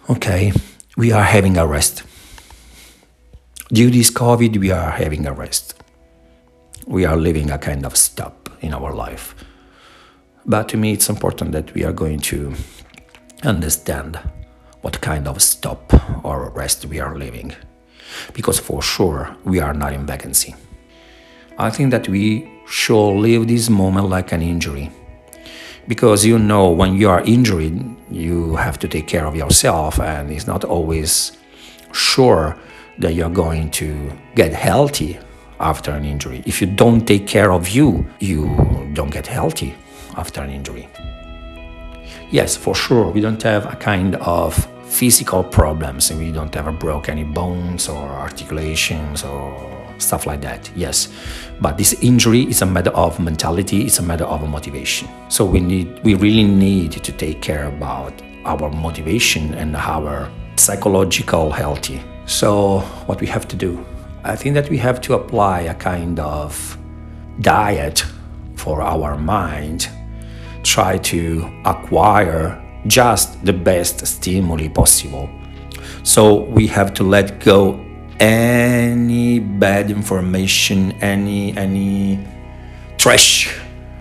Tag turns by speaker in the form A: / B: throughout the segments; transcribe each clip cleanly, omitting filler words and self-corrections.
A: Okay, we are having a rest. Due to this COVID, we are having a rest. We are living a kind of stop in our life. But to me, it's important that we are going to understand what kind of stop or rest we are living. Because for sure, we are not in vacancy. I think that we should live this moment like an injury. Because when you are injured, you have to take care of yourself, and it's not always sure that you're going to get healthy after an injury. If you don't take care of you, you don't get healthy after an injury. Yes, for sure, we don't have a kind of physical problems, and we don't ever broke any bones or articulations or stuff like that, yes. But this injury is a matter of mentality, it's a matter of motivation. So we really need to take care about our motivation and our psychological healthy. So what we have to do? I think that we have to apply a kind of diet for our mind, try to acquire just the best stimuli possible. So we have to let go any bad information, any trash,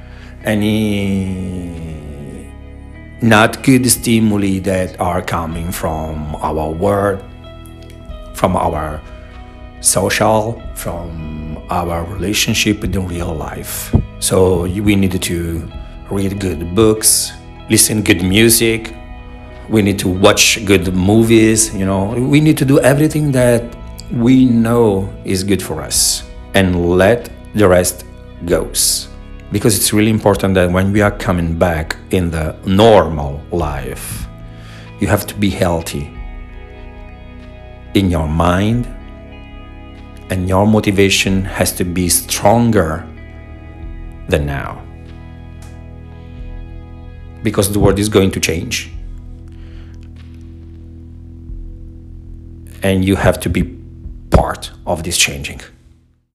A: any not good stimuli that are coming from our world, from our social, from our relationship in the real life. So we need to read good books, listen good music, we need to watch good movies, we need to do everything that we know is good for us and let the rest goes. Because it's really important that when we are coming back in the normal life, you have to be healthy in your mind, and your motivation has to be stronger than now. Because the world is going to change. And you have to be part of this changing.